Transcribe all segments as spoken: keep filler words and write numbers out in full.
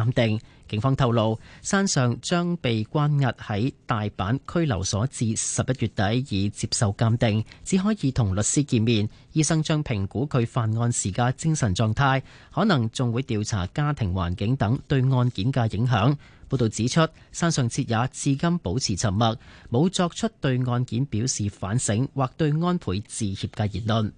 鑑定。警方透露，山上將被關押喺大阪拘留所至十一月底，以接受鑑定，只可以同律師見面。醫生將評估佢犯案時嘅精神狀態，可能仲會調查家庭環境等對案件嘅影響。報道指出，山上徹也至今保持沉默，冇作出對案件表示反省或對安倍致歉嘅言論。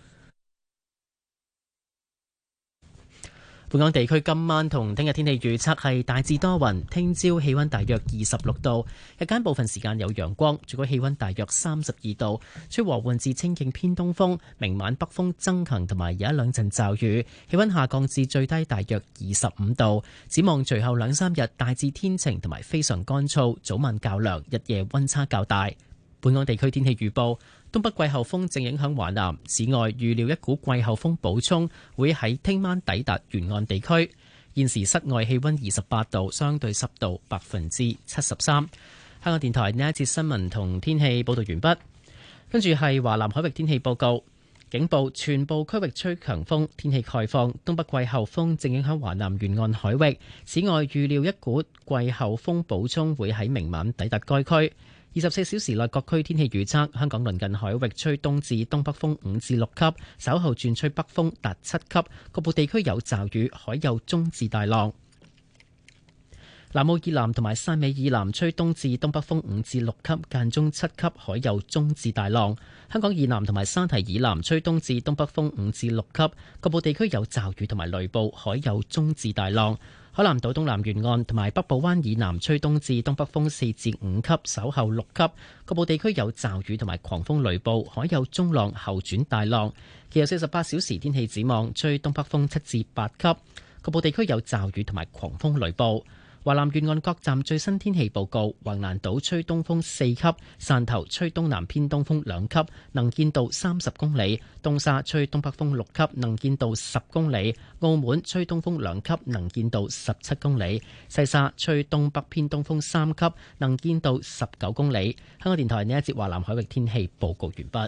本港地區今晚同聽日天氣預測係大致多雲，聽朝氣溫大約二十六度，日間部分時間有陽光，最高氣溫大約三十二度，吹和緩至清勁偏東風，明晚北風增強同埋有一兩陣驟雨，氣溫下降至最低大約二十五度。展望隨後兩三日大致天晴同埋非常乾燥，早晚較涼，日夜溫差較大。本港地區天氣預報。東北季候風正影響華南，此外預料一股季候風補充會喺聽晚抵達沿岸地區。現時室外氣溫二十八度，相對濕度百分之七十三。香港電台呢一節新聞同天氣報道完畢，跟住係華南海域天氣報告。警報：全部區域吹強風，天氣概況。東北季候風正影響華南沿岸海域，此外預料一股季候風補充會喺明晚抵達該區。二十四小時內各區天氣預測：香港鄰近海域吹東至東北風五至六級，稍後轉吹北風達七級，局部地區有驟雨，海有中至大浪。南澳以南同埋汕尾以南吹東至東北風五至六級，間中七級，海有中至大浪。香港以南同埋沙堤以南吹東至東北風五至六級，局部地區有驟雨同埋雷暴，海有中至大浪。海南島東南沿岸同埋北部灣以南吹東至東北風四至五級，稍後六級，局部地區有驟雨同埋狂風雷暴，海有中浪後轉大浪。其後四十八小時天氣展望，吹東北風七至八級，局部地區有驟雨同埋狂風雷暴。華南沿岸各站最新天氣報告：橫瀾島吹東風四級，汕頭吹東南偏東風兩級，能見度三十公里；東沙吹東北風六級，能見度十公里；澳門吹東風兩級，能見度十七公里；西沙吹東北偏東風三級，能見度十九公里。香港電台呢一節華南海域天氣報告完畢。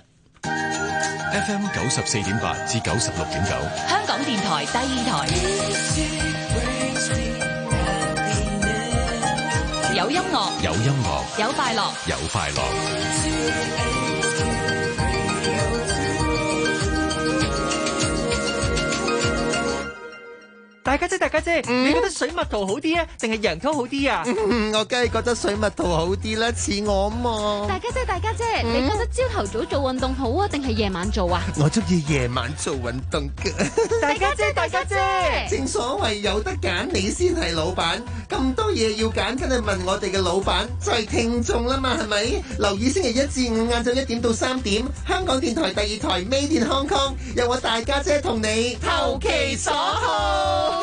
F M 九十四點八至九十六點九， 香港電台第二台。有音樂， 有音樂， 有快樂， 有快樂。 大家姐，大家姐，嗯、你覺得水蜜桃好啲啊，定係洋蔥好啲啊？ 嗯、我梗係覺得水蜜桃好啲啦，似我嘛。 大家姐，大家姐，嗯、你覺得朝頭早做運動好啊，定係夜晚做啊？ 我中意夜晚做運動嘅。 大家姐，大家姐， 正所謂有得揀，你先係老闆。咁多嘢要揀，梗係問我哋嘅老闆，就係聽眾啦嘛，係咪？留意星期一至五晏晝一點到三點，香港電台第二台 Made in Hong Kong，有我大家姐同你投其所好。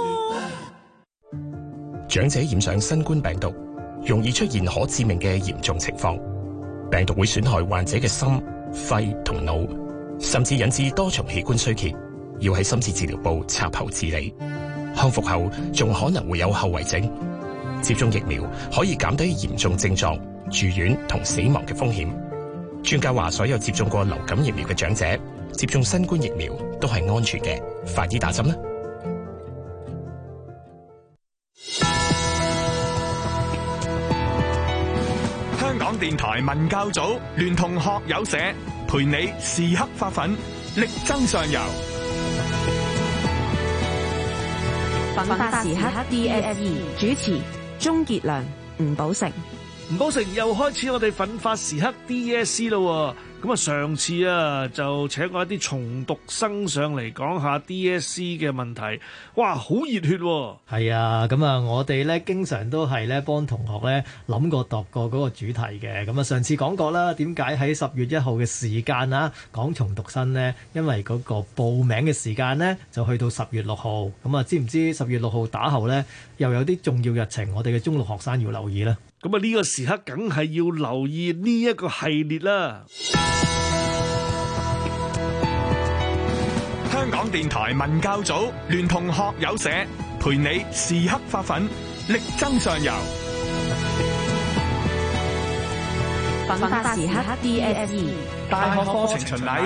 長者染上新冠病毒，容易出現可致命嘅嚴重情況。病毒會損害患者嘅心、肺同腦，甚至引致多重器官衰竭，要喺深切治療部插喉治理。康復後仲可能會有後遺症。接種疫苗可以減低嚴重症狀、住院同死亡嘅風險。專家話，所有接種過流感疫苗嘅長者接種新冠疫苗都係安全嘅，快啲打針啦！ 香港電台文教組聯同學友社陪你時刻發奮，力爭上游。 奮發時刻 D S E 主持鍾傑良、吳寶成。 吳寶成又開始我哋奮發時刻 D S E 咯。咁啊，上次啊就請過一啲重讀生上嚟講下 D S E 嘅問題，哇，好熱血喎！ 係啊，咁啊，我哋咧經常都係咧幫同學咧諗過度過嗰個主題嘅。咁啊，上次講過啦，點解喺十月一號嘅時間啊講重讀生呢？因為嗰個報名嘅時間呢，就去到十月六號。咁啊，知唔知十月六號打後呢，又有啲重要日程，我哋嘅中六學生要留意呢？ 咁啊，呢個時刻梗係要留意呢一個系列啦。 香港電台文教組聯同學友社陪你時刻發奮，力爭上游。 奮發時刻 D S E 大學課程巡禮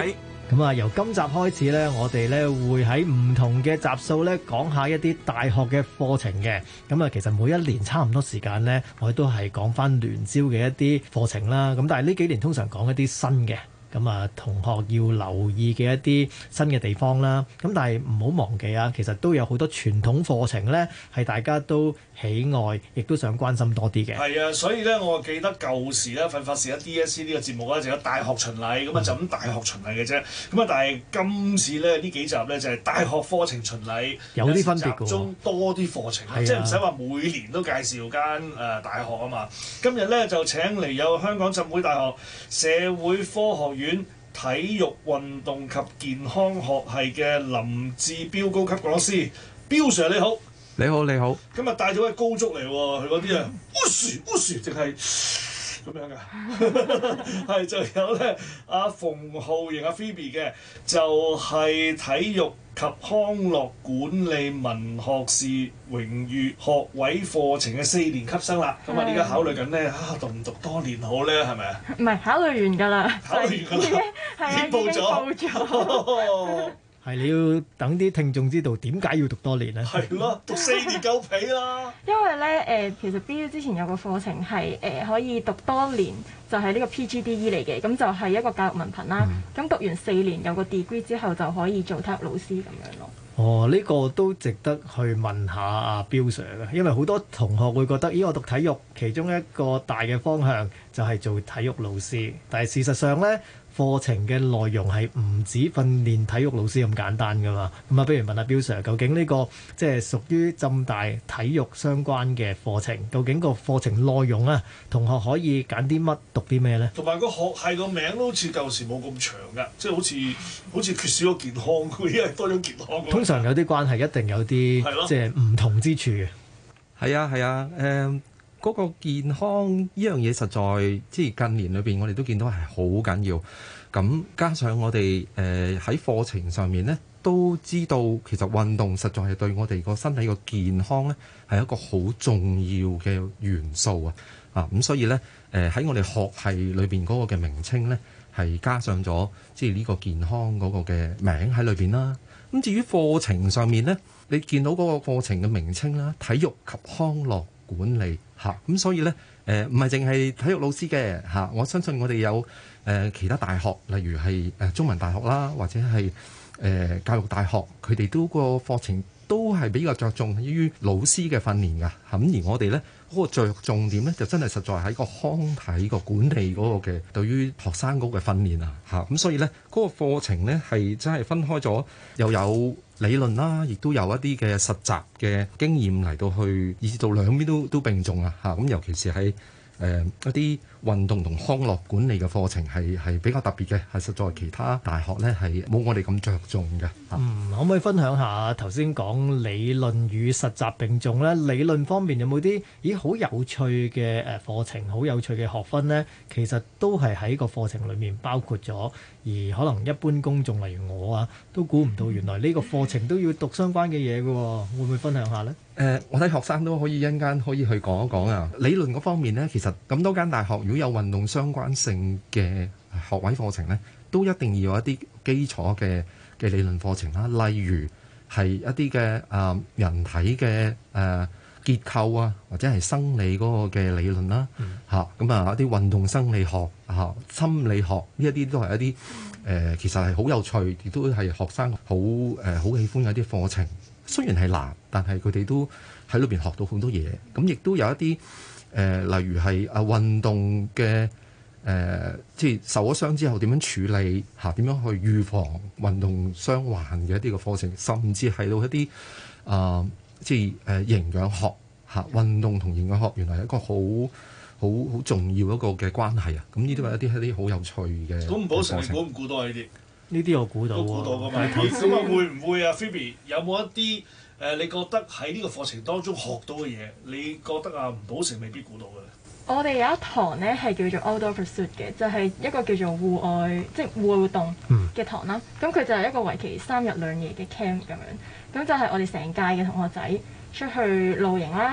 咁啊，由今集開始呢，我哋呢會喺唔同嘅集數呢講下一啲大學嘅課程嘅。咁啊，其實每一年差唔多時間呢，我哋都係講翻聯招嘅一啲課程啦。咁但係呢幾年通常講一啲新嘅。咁啊，同學要留意嘅一啲新嘅地方啦。咁但係唔好忘記啊，其實都有好多傳統課程呢，係大家都喜愛，亦都想關心多啲嘅。 係啊，所以咧，我記得舊時咧，奮發時一 D S C 呢個節目咧，就有大學巡禮，咁啊就咁大學巡禮嘅啫。咁啊，但係今次咧呢幾集咧就係大學課程巡禮， 有啲分別嘅喎， 集中多啲課程，啊、即係唔使話每年都介紹間誒、呃、大學啊嘛。今日咧就請嚟有香港浸會大學社會科學院體育運動及健康學系嘅林志標高級講師，標 Sir 你好。 你好，你好。 今日帶咗位高足嚟喎，佢嗰啲啊，烏樹烏樹，淨係咁樣噶，係就有咧阿馮浩瑩阿 Phoebe 嘅，就係、是、體育及康樂管理文學士榮譽學位課程嘅四年級生啦。咁啊，而家考慮緊咧啊，讀唔讀多年好咧？係咪啊？ 唔係考慮完㗎啦， 考慮完㗎啦，已經報咗。報咗。 係你要等啲聽眾知道點解要讀多年咧？ 係咯，讀四年夠皮啦。 因為咧誒、呃，其實 B U 之前有個課程係誒、呃、可以讀多年，就係、是、呢個 P G D E 嚟嘅，咁就係一個教育文憑啦。咁、嗯、讀完四年有個 degree 之後就可以做體育老師咁樣咯。 哦，呢、這個都值得去問下阿標 Sir 嘅，因為好多同學會覺得，咦，我讀體育其中一個大嘅方向就係做體育老師，但係事實上咧，課程嘅內容係唔止訓練體育老師咁簡單噶嘛。咁啊，不如問下標 Sir，究竟呢、這個即係屬於浸大體育相關嘅課程，究竟個課程內容啊，同學可以揀啲乜讀啲咩咧？ 同埋個學系個名都好似舊時冇咁長噶，即係好似好似缺少咗健康，因為多咗健康。 通常有啲關係，一定有啲即係唔同之處嘅。 係啊係啊，誒嗰、呃嗰個健康呢樣嘢實在即係近年裏邊，我哋都見到係好緊要。咁加上我哋誒喺課程上面咧，都知道其實運動實在係對我哋個身體個健康咧係一個好重要嘅元素啊！啊咁，所以咧誒喺我哋學系裏邊嗰個嘅名稱咧係加上咗即係呢個健康嗰個嘅名喺裏邊啦。咁至於課程上面咧，你見到嗰個課程嘅名稱啦，體育及康樂管理嚇，咁、啊、所以咧誒唔係淨係體育老師嘅嚇、啊，我相信我哋有誒、呃、其他大學，例如係誒、呃、中文大學啦，或者係誒、呃、教育大學，佢哋都個課程都係比較着重於老師嘅訓練㗎。咁、啊、而我哋咧嗰個着重點咧，就真係實在喺個康體個管理嗰個嘅對於學生嗰個訓練啊嚇。咁所以咧嗰、那個課程咧係真係分開咗，又有理論啦，亦都有一啲嘅實習嘅經驗嚟到去，以至到兩邊都都並重啊嚇。咁尤其是喺誒、呃、一啲運動同康樂管理嘅課程係係比較特別嘅，係實在其他大學咧係冇我哋咁着重嘅。 嗯，可唔可以分享下頭先講理論與實習並重咧？理論方面有冇啲咦好有趣嘅誒課程，好有趣嘅學分咧？其實都係喺個課程裡面包括咗，而可能一般公眾例如我啊，都估唔到原來呢個課程都要讀相關嘅嘢嘅喎，會唔會分享下咧？ 誒、呃，我睇學生都可以一陣間可以去講一講啊。理論嗰方面咧，其實咁多間大學如果有運動相關性嘅學位課程咧，都一定要有一啲基礎嘅嘅理論課程啦。例如係一啲嘅誒人體嘅誒、呃、結構啊，或者係生理嗰個嘅理論啦嚇。咁啊一啲運動生理學嚇、啊、心理學呢一啲都係一啲誒、呃、其實係好有趣，亦都係學生好誒好喜歡嘅一啲課程。雖然係難，但係佢哋都喺裏邊學到好多嘢。咁亦都有一啲誒、呃，例如係啊運動嘅誒、呃，即係受咗傷之後點樣處理嚇，點、啊、樣去預防運動傷患嘅一啲嘅課程，甚至係到一啲啊、呃，即係誒、呃、營養學嚇、啊，運動同營養學原來係一個好好好重要一個嘅關係啊！咁呢啲係一啲一啲好有趣嘅。 估唔到成，估唔估到呢啲？ 呢啲我估到喎， 估到㗎嘛？咁啊會唔會啊 Phoebe 有冇一啲誒、呃？你覺得喺呢個課程當中學到嘅嘢，你覺得啊吳寶成未必估到嘅咧？ 我哋有一堂咧係叫做 Outdoor Pursuit 嘅，就係、是、一個叫做戶外即係戶外活動嘅堂啦。咁佢、嗯、就係一個為期三日兩夜嘅 camp 咁樣。咁就係我哋成屆嘅同學仔出去露營啦。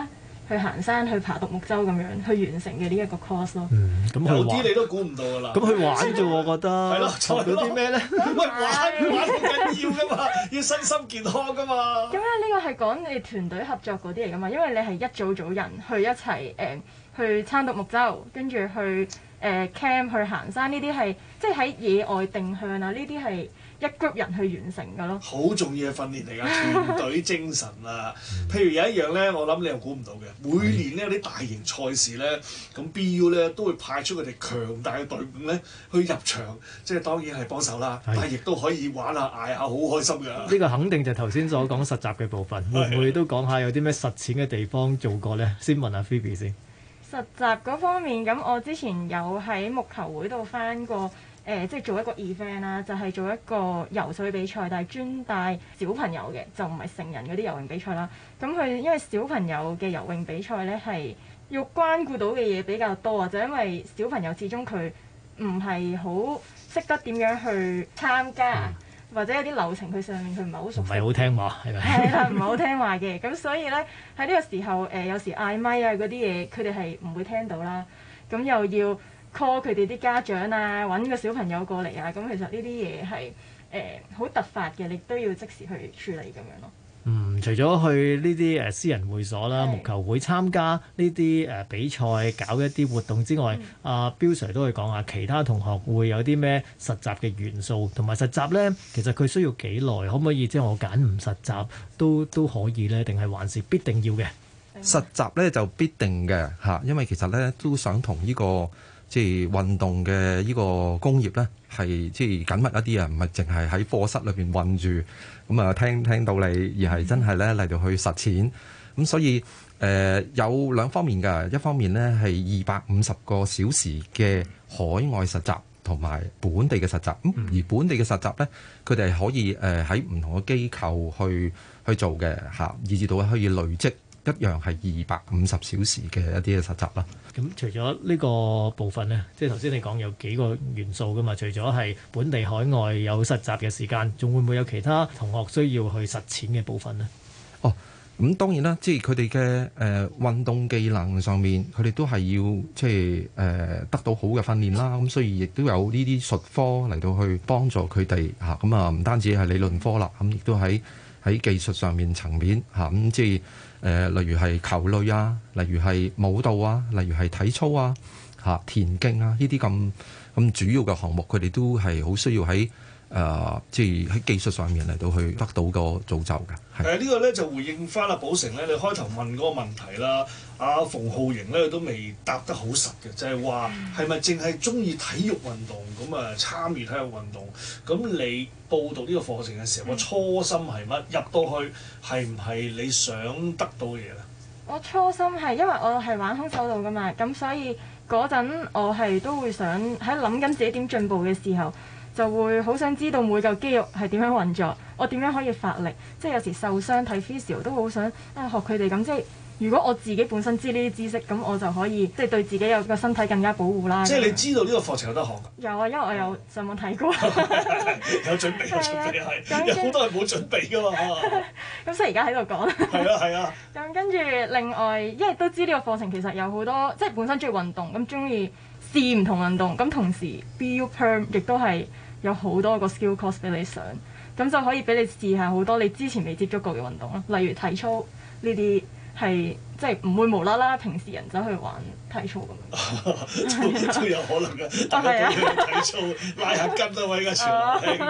去行山、去爬獨木舟咁樣去完成嘅呢一個 course 咯。 嗯，咁有啲你都估唔到㗎啦。 咁去玩啫喎，我覺得。 係咯， 學到啲咩咧？ 喂，玩玩好緊要㗎嘛，要身心健康㗎嘛。 咁咧呢個係講你團隊合作嗰啲嚟㗎嘛，因為你係一組組人去一齊誒、呃、去撐獨木舟，跟住去誒、呃、camp 去行山，呢啲係即係喺野外定向啊，呢啲係一 group 人去完成㗎咯。 好重要嘅訓練嚟㗎，團隊精神啊！譬如有一樣咧，我諗你又估唔到嘅，每年咧有啲大型賽事咧，咁 B U 咧都會派出佢哋強大嘅隊伍咧去入場，即係當然係幫手啦，但係亦都可以玩下嗌下，好開心㗎。 呢個肯定就係頭先所講實習嘅部分，會唔會都講下有啲咩實踐嘅地方做過咧？先問下 Phoebe 先。 實習嗰方面，咁我之前有喺木球會度返過。誒、呃，即係做一個 event 啦，就係、是、做一個游水比賽，但係專帶小朋友嘅，就唔係成人嗰啲游泳比賽啦。咁佢因為小朋友嘅游泳比賽咧係要關顧到嘅嘢比較多啊，就因為小朋友始終佢唔係好識得點樣去參加，嗯、或者有啲流程佢上面佢唔係好熟悉， 唔係好聽話係咪？ 係啦，唔係好聽話嘅。咁所以咧喺呢個時候，誒、呃、有時嗌咪啊嗰啲嘢，佢哋係唔會聽到啦。咁又要 call 佢哋啲家長啊，揾個小朋友過嚟啊，咁其實呢啲嘢係誒好突發嘅，你都要即時去處理咁樣咯。 嗯，除咗去呢啲誒私人會所啦、木球會參加呢啲誒比賽、搞一啲活動之外，阿、嗯啊、Bill Sir 都會講下其他同學會有啲咩實習嘅元素，同埋實習咧，其實佢需要幾耐？可唔可以即係我揀唔實習都都可以咧？定係還是必定要嘅？ 實習咧就必定嘅嚇，因為其實咧都想同呢、這個。即係運動嘅呢個工業咧，係即係緊密一啲啊，唔係淨係喺課室裏邊韞住咁啊，聽聽到你，而係真係咧嚟到去實踐。咁所以誒、呃、有兩方面㗎，一方面咧係二百五十個小時嘅海外實習同埋本地嘅實習。咁而本地嘅實習咧，佢哋係可以誒喺唔同嘅機構去去做嘅嚇，以至到可以累積。一樣係二百五十小時嘅一啲嘅實習啦。 咁除咗呢個部分呢，即係頭先你講有幾個元素噶嘛？除咗係本地海外有實習嘅時間，仲會唔會有其他同學需要去實踐嘅部分呢？ 哦，咁當然啦，即係佢哋嘅誒運動技能上面，佢哋都係要即係誒、呃、得到好嘅訓練啦。咁所以亦都有呢啲術科嚟到去幫助佢哋嚇。咁啊，唔單止係理論科啦，咁亦都喺喺技術上面層面嚇。咁即係。誒、呃，例如係球類啊，例如係舞蹈啊，例如係體操啊，嚇、啊、田徑啊，呢啲咁咁主要嘅項目，佢哋都係好需要喺誒，即係喺技術上面嚟到去得到個造就嘅。誒、 呃這個、呢個咧就回應翻阿寶成咧，你開頭問嗰個問題啦，阿、啊、馮浩瑩咧都未答得好實嘅，就係話係咪淨係中意體育運動咁啊參與體育運動？咁你報讀呢個課程嘅時候，個、嗯、初心係乜？入到去係唔係你想得到嘅嘢咧？ 我初心係因為我係玩空手道噶嘛，咁所以嗰陣我係都會想喺諗緊自己點進步嘅時候，就會好想知道每嚿肌肉係點樣運作，我點樣可以發力，即係有時受傷睇 physio 都好想啊學佢哋咁，即係如果我自己本身知呢啲知識，咁我就可以即係對自己有個身體更加保護啦。 即係你知道呢個課程有得學㗎？ 有啊，因為我有上網睇過。 有準備，有準備係，有好多人冇準備㗎嘛。 咁所以而家喺度講。係啊係啊。 咁跟住另外，因為都知呢個課程其實有好多，即係本身中意運動，咁中意試唔同運動，咁同時 B U Perm 亦都係有好多個 skill course 俾你上，咁就可以俾你試下好多你之前未接觸過嘅運動啦，例如體操呢啲。係即係唔會無啦啦，平時人走去玩體操咁樣，都都有可能嘅。大家都去體操，拉下筋啊！我依家全興。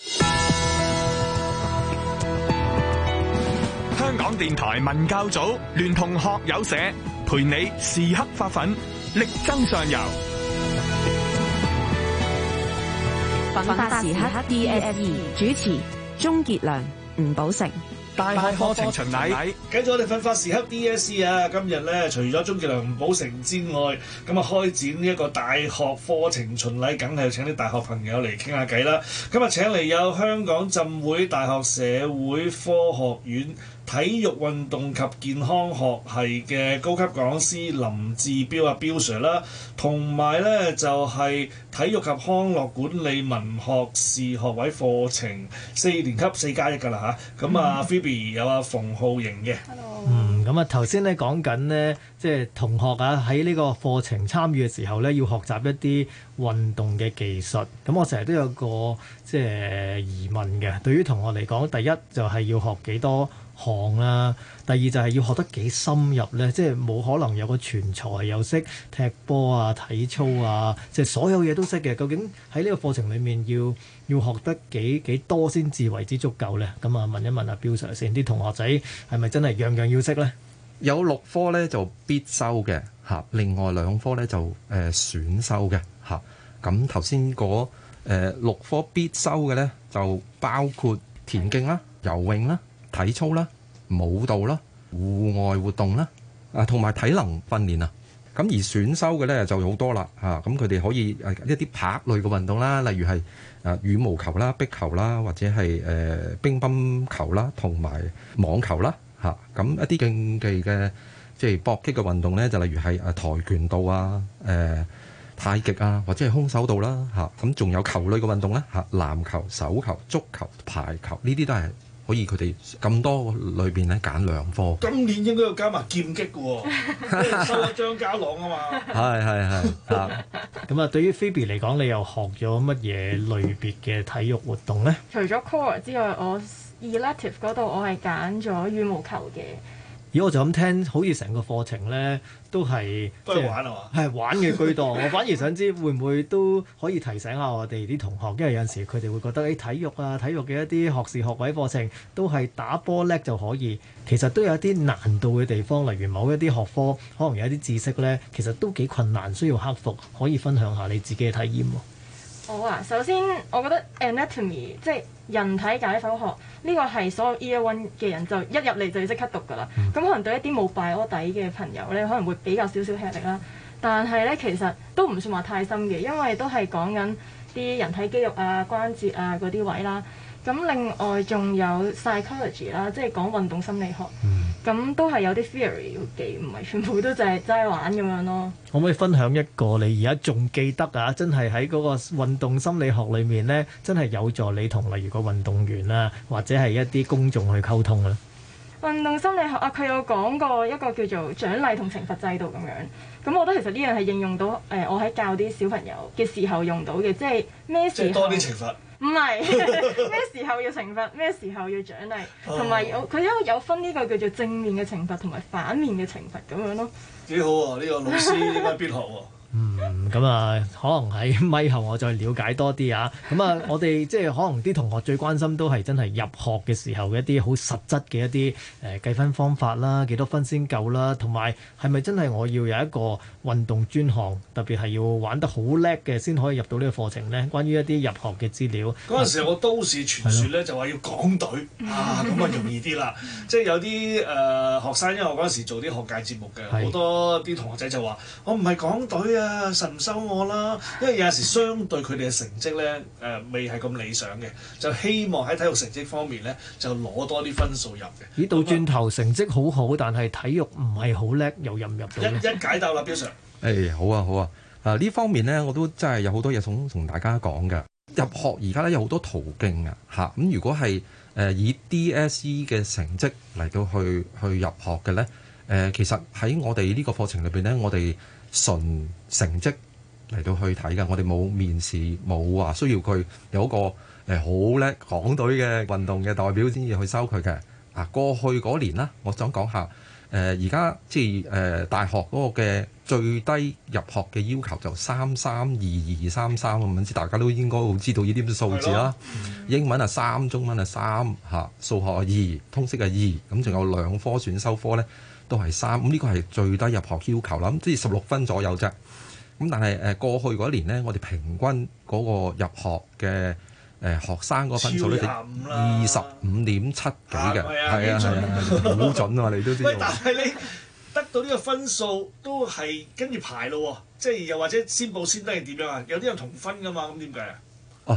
香港電台文教組聯同學友社，陪你時刻發奮，力爭上游。 奮發時刻 D S E 主持鍾傑良、吳寶成。 大學課程巡禮， 繼續我哋奮發時刻 D S E 啊！今日咧，除咗鍾傑良、吳寶成之外，咁啊開展呢一個大學課程巡禮，梗係要請啲大學朋友嚟傾下偈啦。今日請嚟有香港浸會大學社會科學院體育運動及健康學系嘅高級講師林志標啊，標 Sir 啦，同埋咧就係、是、體育及康樂管理文學士學位課程四年級四加一㗎啦嚇。咁啊 Phoebe 有阿馮浩瑩嘅。 嗯，咁啊頭先咧講緊呢，即係同學啊喺呢個課程參與嘅時候咧，要學習一啲運動嘅技術。咁我成日都有個即係疑問嘅，對於同學嚟講，第一就係要學幾多項啦，第二就係要學得幾深入咧，即係冇可能有個全才又識踢波啊、體操啊，即係所有嘢都識嘅。究竟喺呢個課程裡面要要學得幾幾多先至為之足夠咧？咁啊問一問阿標 Sir 先，啲同學仔係咪真係樣樣要識咧？ 有六科咧就必修嘅嚇，另外兩科咧就誒、呃、選修嘅嚇。咁頭先嗰誒六科必修嘅咧就包括田徑啦、游泳啦、體操啦、舞蹈啦、戶外活動啦，啊同埋體能訓練啊。咁而選修嘅咧就好多啦嚇，咁佢哋可以誒一啲拍類嘅運動啦，例如係誒羽毛球啦、壁球啦，或者係誒乒乓球啦，同埋網球啦嚇。咁一啲競技嘅即係搏擊嘅運動咧，就例如係誒跆拳道啊、誒太極啊，或者係空手道啦嚇。咁仲有球類嘅運動咧嚇，籃球、手球、足球、排球呢啲都係可以佢哋咁多裏邊咧揀兩科。 今年應該要加埋劍擊嘅喎，收咗張家朗啊嘛。 係係係啊。 咁啊，對於 Phoebe 嚟講，你又學咗乜嘢類別嘅體育活動咧？ 除咗 core 之外，我 elective 嗰度我係揀咗羽毛球嘅。 咦，我就咁聽，好似成個課程咧都係都係玩啊嘛， 係玩嘅居多。我反而想知會唔會都可以提醒下我哋啲同學，因為有陣時佢哋會覺得誒、哎、體育啊、體育嘅一啲學士學位課程都係打波叻就可以，其實都有一啲難度嘅地方，例如某一啲學科可能有一啲知識咧，其實都幾困難，需要克服。可以分享下你自己嘅體驗喎。 好啊，首先我覺得 anatomy 即係人體解剖學呢個係所有 year one 嘅人就一入嚟就要即刻讀㗎啦。咁、嗯、可能對一啲冇 bio 底嘅朋友咧，可能會比較少少吃力啦。但係咧其實都唔算話太深嘅，因為都係講緊啲人體肌肉啊、關節啊嗰啲位啦。咁另外仲有 psychology 啦，即係講運動心理學。咁、嗯、都係有啲 theory 要記，唔係全部都就係齋玩咁樣咯。 可唔可以分享一個你而家仲記得啊？真係喺嗰個運動心理學裏面咧，真係有助你同例如個運動員啊，或者係一啲公眾去溝通啊？ 運動心理學啊，佢有講過一個叫做獎勵同懲罰制度咁樣。咁我覺得其實呢樣係應用到誒、呃，我喺教啲小朋友嘅時候用到嘅，即係咩時候？即係多啲懲罰。唔係咩時候要懲罰，咩時候要獎勵，同埋有佢有有分呢個叫做正面嘅懲罰同埋反面嘅懲罰咁樣咯。幾好喎！呢、呢個老師應該必學喎。 嗯，咁啊，可能喺咪後我再了解多啲啊。咁啊，我哋即係可能啲同學最關心都係真係入學嘅時候嘅一啲好實質嘅一啲誒、呃、計分方法啦，幾多分先夠啦，同埋係咪真係我要有一個運動專項，特別係要玩得好叻嘅先可以入到呢個課程呢？關於一啲入學嘅資料， 嗰陣時我都市傳説咧就話要港隊啊，咁啊容易啲啦。即係有啲誒、呃、學生，因為我嗰陣時做啲學界節目嘅，好多啲同學仔就話我唔係港隊啊。啊！神唔收我啦，因為有陣時相對佢哋嘅成績咧，誒、呃、未係咁理想嘅，就希望喺體育成績方面咧就攞多啲分數入嘅。 咦？到轉頭成績好好，但係體育唔係好叻，又入唔入到？ 一一解答啦，標 Sir。 誒好啊好啊，啊呢方面咧我都真係有好多嘢想同大家講嘅。入學而家咧有好多途徑啊，嚇咁如果係誒、呃、以 D S E 嘅成績嚟到去去入學嘅咧，誒、呃、其實喺我哋呢個課程裏邊咧，我哋純成績嚟到去睇㗎，我哋冇面試，冇話需要佢有一個誒好叻港隊嘅運動嘅代表先至去收佢嘅。啊，過去嗰年啦，我想講下誒，而家即係誒大學嗰個嘅最低入學嘅要求就三三二二三三咁，唔知大家都應該好知道呢啲數字啦。英文係三，中文係三嚇，數學係二，通識係二，咁仲有兩科選修科咧都係三，咁呢個係最低入學要求啦。咁即係十六分左右啫。咁但係誒過去嗰年咧，我哋平均嗰個入學嘅誒學生嗰個分數咧，二十五點七幾嘅，係啊係啊，好準啊！你都知道。喂， 但係你得到呢個分數都係跟住排咯喎，即係又或者先報先得係點樣啊？有啲人同分噶嘛，咁點解啊？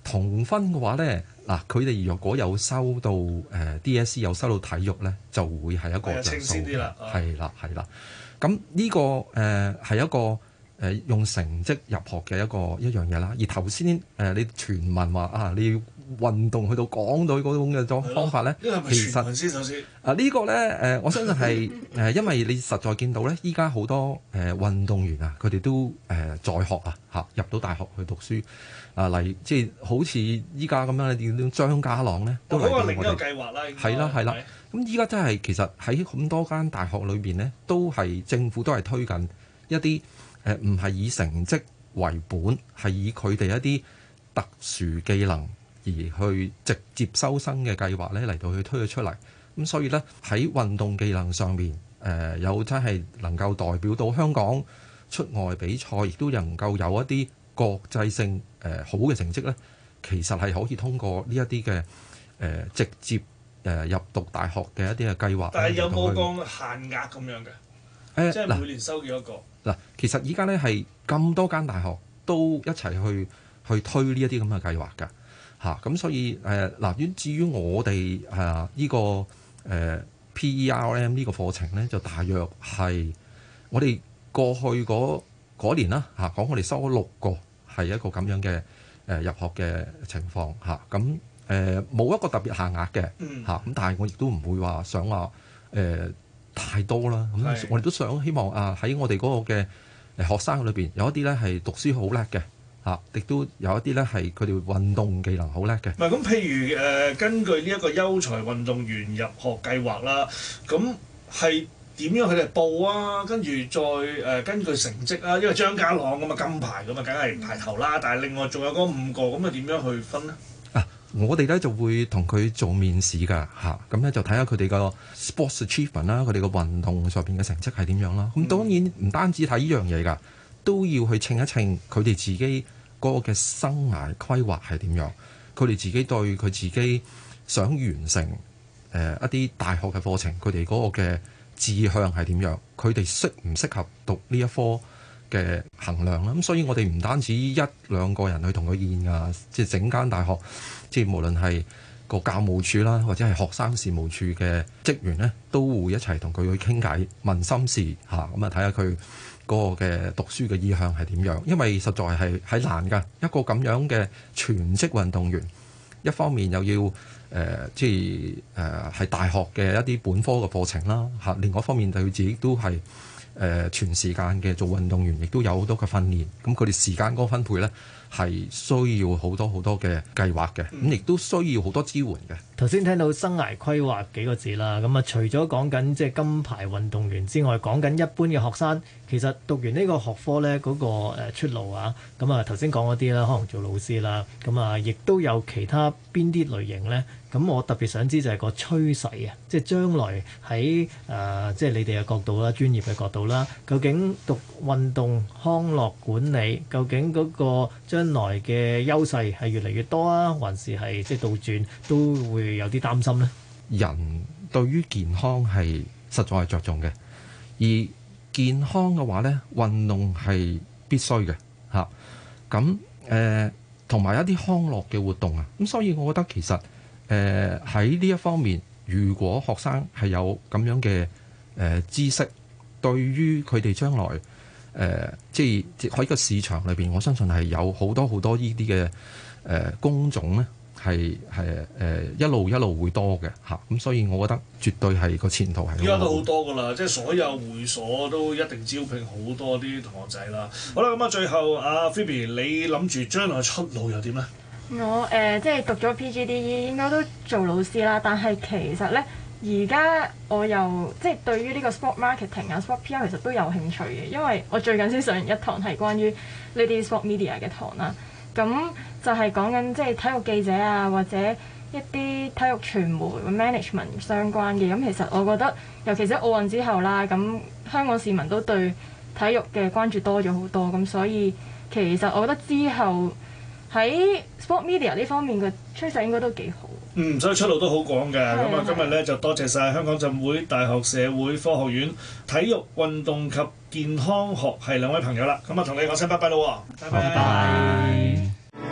同分嘅話咧，嗱佢哋若果有收到誒、呃、D S C 有收到體育咧，就會係一個着數。 清晰啲啦， 係啦係啦。咁呢、這個誒係、呃、一個誒、呃、用成績入學嘅一個一樣嘢啦。而頭先誒你傳聞話啊，你要運動去到港隊嗰種嘅方法咧，其實先首先啊、這個、呢個咧誒，我相信係誒、呃，因為你實在見到咧，依家好多誒、呃、運動員啊，佢哋都誒、呃、在學啊嚇，入到大學去讀書啊，例即係好似依家咁樣，你見到張家朗咧都嚟到我哋。嗰個另一個計劃啦，係啦係啦。咁依家真係其實喺咁多間大學裏邊咧，都係政府都係推緊一啲誒唔係以成績為本，係以佢哋一啲特殊技能而去直接收生嘅計劃咧嚟到去推咗出嚟，咁所以咧喺運動技能上面，誒、呃、有真係能夠代表到香港出外比賽，亦都能夠有一啲國際性誒、呃、好嘅成績咧，其實係可以通過呢一啲嘅誒直接誒、呃、入讀大學嘅一啲嘅計劃。 但係有冇個限額咁樣嘅？誒、呃，即係每年收幾多個？ 嗱，其實依家咧係咁多間大學都一齊去去推呢一啲咁嘅計劃㗎。嚇咁、啊、所以誒嗱，於、呃、至於我哋誒呢個誒、呃、P E R M 呢個課程咧，就大約係我哋過去嗰年啦嚇，講、啊、我哋收咗六個係一個咁樣嘅誒、呃、入學嘅情況嚇，咁誒冇一個特別限額嘅嚇，咁、啊、但係我亦都唔會話想話誒、呃、太多啦。咁、嗯、我哋都想希望啊喺我哋嗰個嘅誒學生裏邊有一啲咧係讀書好叻嘅。嚇，亦都有一啲咧係佢哋運動技能好叻嘅。 唔係咁，譬如誒、呃，根據呢一個優才運動員入學計劃啦，咁係點樣佢哋報啊？跟住再誒、呃、根據成績啊，因為張家朗咁啊金牌咁啊，梗係排頭啦。但係另外仲有嗰五個，咁啊點樣去分呢？ 啊，我哋咧就會同佢做面試㗎嚇，咁、啊、咧就睇下佢哋個 sports achievement 啦，佢哋個運動上邊嘅成績係點樣啦。咁、嗯、當然唔單止睇呢樣嘢㗎。都要去稱一稱佢哋自己嗰個嘅生涯規劃係點樣，佢哋自己對佢自己想完成誒、呃、一啲大學嘅課程，佢哋嗰個嘅志向係點樣，佢哋適唔適合讀呢一科嘅衡量啦。咁所以我哋唔單止一兩個人去同佢見啊，即係整間大學，即係無論係個教務處啦，或者係學生事務處嘅職員咧，都會一齊同佢去傾偈問心事嚇，咁啊睇下佢嗰個嘅讀書嘅意向係點樣？因為實在係係難㗎，一個咁樣嘅全職運動員，一方面又要誒、呃、即係誒係大學嘅一啲本科嘅課程啦嚇，另外一方面就佢自己都係誒、呃、全時間嘅做運動員，亦都有好多嘅訓練。咁佢哋時間嗰個分配咧係需要好多好多嘅計劃嘅，咁亦都需要好多支援嘅。 頭先聽到生涯規劃幾個字啦，咁啊除咗講緊即係金牌運動員之外，講緊一般嘅學生，其實讀完呢個學科咧嗰個誒出路啊，咁啊頭先講嗰啲啦，可能做老師啦，咁啊亦都有其他邊啲類型咧？咁我特別想知就係個趨勢啊，即係將來喺誒即係你哋嘅角度啦、專業嘅角度啦，究竟讀運動康樂管理，究竟嗰個將來嘅優勢係越嚟越多啊，還是係即係倒轉都會有啲擔心呢？ 人對於健康係實在係着重嘅，而健康嘅話呢，運動係必須嘅嚇。咁誒同埋一啲康樂嘅活動啊，咁所以我覺得其實誒喺呢一方面，如果學生係有咁樣嘅誒、呃、知識，對於佢哋將來誒、呃、即係喺個市場裏邊，我相信係有好多好多呢啲嘅誒工種咧。係係誒一路一路會多嘅嚇，咁所以我覺得絕對係個前途係。 而家都好多㗎啦，即係所有會所都一定招聘好多啲同學仔啦。好啦，咁啊最後阿 Phoebe，你諗住將來出路又點咧？ 我誒、呃、即係讀咗 P G D E 應該都做老師啦，但係其實咧而家我又即係對於呢個 sport marketing 啊 sport P R 其實都有興趣嘅，因為我最近先上完一堂係關於呢啲 sport media 嘅堂啦。咁就係講緊即係體育記者啊，或者一啲體育傳媒 management 相關嘅。咁其實我覺得，尤其是奧運之後啦，咁香港市民都對體育嘅關注多咗好多。咁所以其實我覺得之後喺 sport media 呢方面嘅趨勢應該都幾好。 嗯，所以出路都好廣嘅。咁啊，今日咧就多謝晒香港浸會大學社會科學院體育運動及健康學系兩位朋友啦。咁啊，同你講聲拜拜咯。拜拜。拜拜。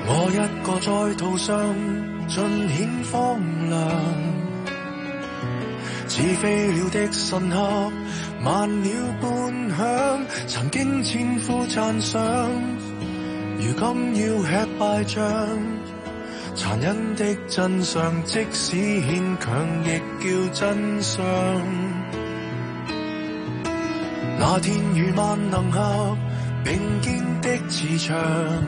我一個在途上盡顯荒涼，似飛鳥的神客慢了半響，曾經千夫讚賞，如今要吃敗仗，殘忍的真相即使牽強亦叫真相。那天與萬能俠並肩的磁場，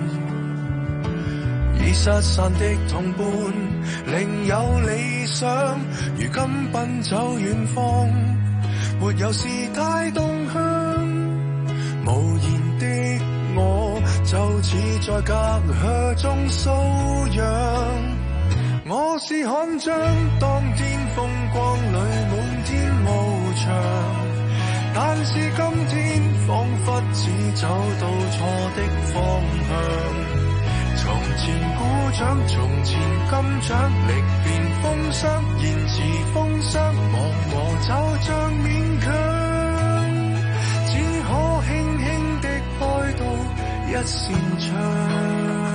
已失散的同伴另有理想，如今奔走遠方，沒有事太動向，無言的我就似在隔靴中搔癢。我是悍將，當天風光裏滿天翱翔，但是今天彷彿只走到錯的方向。從前鼓掌，從前金獎，歷遍風霜，言辭風霜，忘我就像勉強，只可輕輕的開到一扇窗。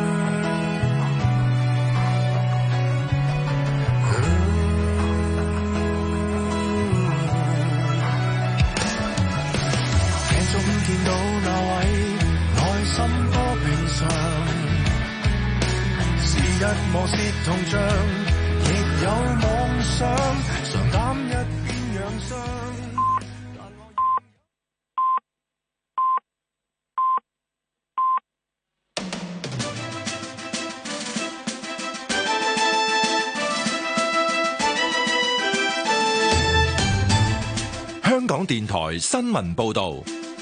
鏡中見到那位，內心多平常。一磨蝕銅像，亦有妄想，常擔一邊養傷。 香港電台新聞報導。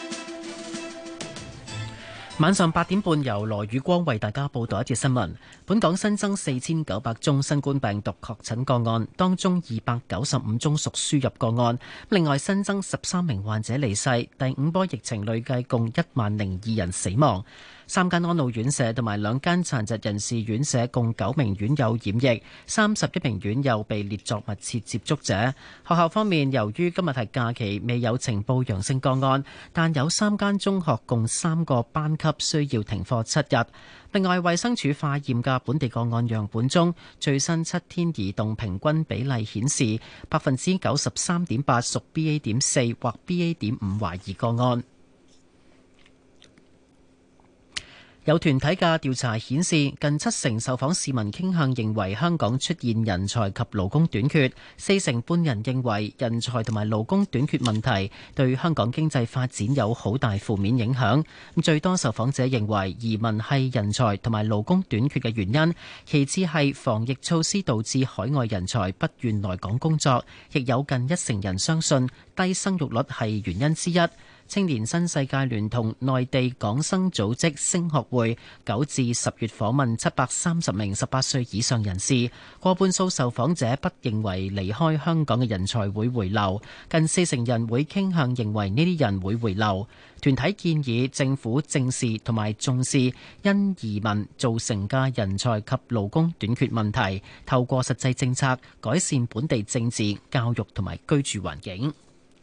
晚上八點半，由羅宇光為大家報道一節新聞。本港新增四千九百宗新冠病毒確診個案，當中二百九十五宗屬輸入個案。另外新增十三名患者離世，第五波疫情累計共一萬零二人死亡。三間安老院舍同埋兩間殘疾人士院舍共九名院友染疫，三十一名院友被列作密切接觸者。學校方面，由於今日係假期，未有呈報陽性個案，但有三間中學共三個班級需要停課七日。另外，衛生署化驗嘅本地個案樣本中，最新七天移動平均比例顯示，百分之九十三點八屬 B A 點四或 B A 點五懷疑個案。有團體嘅調查顯示，近七成受訪市民傾向認為香港出現人才及勞工短缺，四成半人認為人才同埋勞工短缺問題對香港經濟發展有好大負面影響。最多受訪者認為移民係人才同埋勞工短缺嘅原因，其次係防疫措施導致海外人才不願來港工作，亦有近一成人相信低生育率係原因之一。青年新世界聯同內地港生組織升學會九至十月訪問七百三十名十八歲以上人士，過半數受訪者不認為離開香港嘅人才會回流，近四成人會傾向認為呢啲人會回流。團體建議政府正視同埋重視因移民造成嘅人才及勞工短缺問題，透過實際政策改善本地政治、教育同埋居住環境。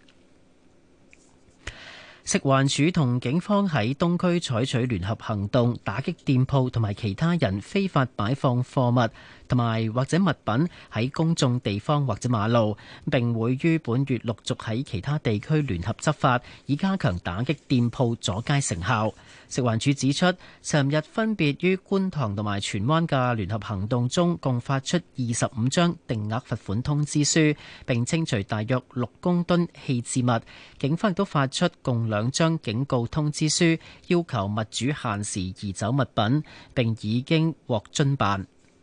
食環署同警方喺東區採取聯合行動，打擊店鋪同埋其他人非法擺放貨物同埋或者物品喺公眾地方或者馬路，並會於本月陸續喺其他地區聯合執法，以加強打擊店鋪阻街成效。食環署指出，尋日分別於觀塘同埋荃灣嘅聯合行動中，共發出二十五張定額罰款通知書，並清除大約六公噸棄置物。警方亦都發出共兩張警告通知書，要求物主限時移走物品，並已經獲遵辦。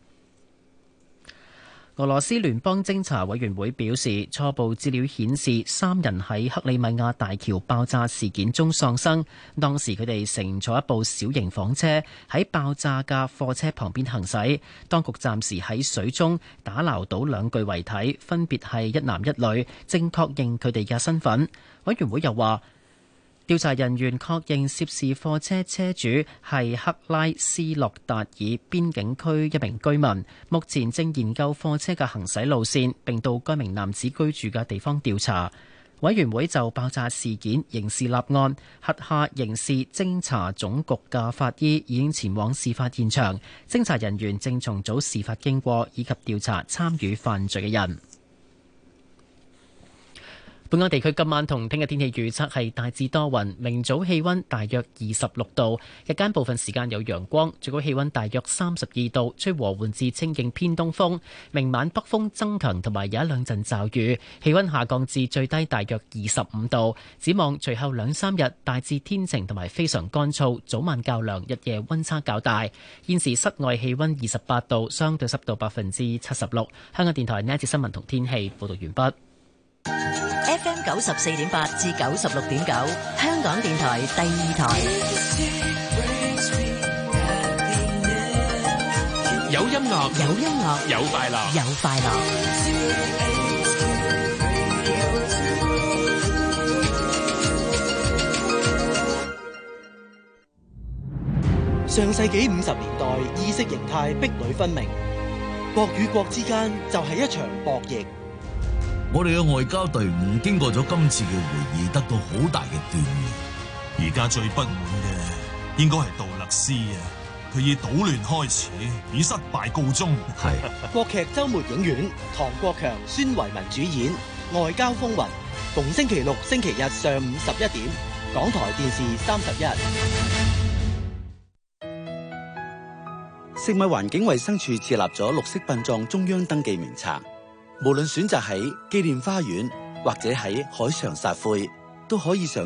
俄羅斯聯邦偵查委員會表示，初步資料顯示三人喺克里米亞大橋爆炸事件中喪生。當時佢哋乘坐一部小型房車喺爆炸嘅貨車旁邊行駛。當局暫時喺水中打撈到兩具遺體，分別係一男一女，正確認佢哋嘅身份。委員會又話，調查人員確認涉事貨車車主係克拉斯諾達爾邊境區一名居民，目前正研究貨車嘅行駛路線，並到該名男子居住嘅地方調查。 委員會就爆炸事件刑事立案，轄下刑事偵查總局嘅法醫已經前往事發現場，偵查人員正重組事發經過以及調查參與犯罪嘅人。本港地區今晚同聽日天氣預測係大致多雲，明早氣溫大約二十六度，日間部分時間有陽光，最高氣溫大約三十二度，吹和緩至清勁偏東風。明晚北風增強，同埋有一兩陣驟雨，氣溫下降至最低大約二十五度。展望隨後兩三日大致天晴同埋非常乾燥，早晚較涼，日夜溫差較大。現時室外氣溫二十八度，相對濕度百分之七十六。香港電台呢一節新聞同天氣報道完畢。 F M 九十四點八至九十六點九，香港電台第二台。 有音樂， 有音樂， 有快樂， 有快樂。 上世紀五十年代，意識形態壁壘分明，國與國之間就係一場博弈。 我哋嘅外交隊伍經過咗今次嘅會議，得到好大嘅鍛煉。 而家最不滿嘅應該係杜勒斯啊！佢以搗亂開始，以失敗告終。 係國劇週末影院，唐國強、孫維民主演《外交風雲》，逢星期六、星期日上午十一點，港台電視三十一。 食物環境衛生署設立咗綠色殯葬中央登記名冊。無論選擇喺紀念花園或者喺海上撒灰，都可以上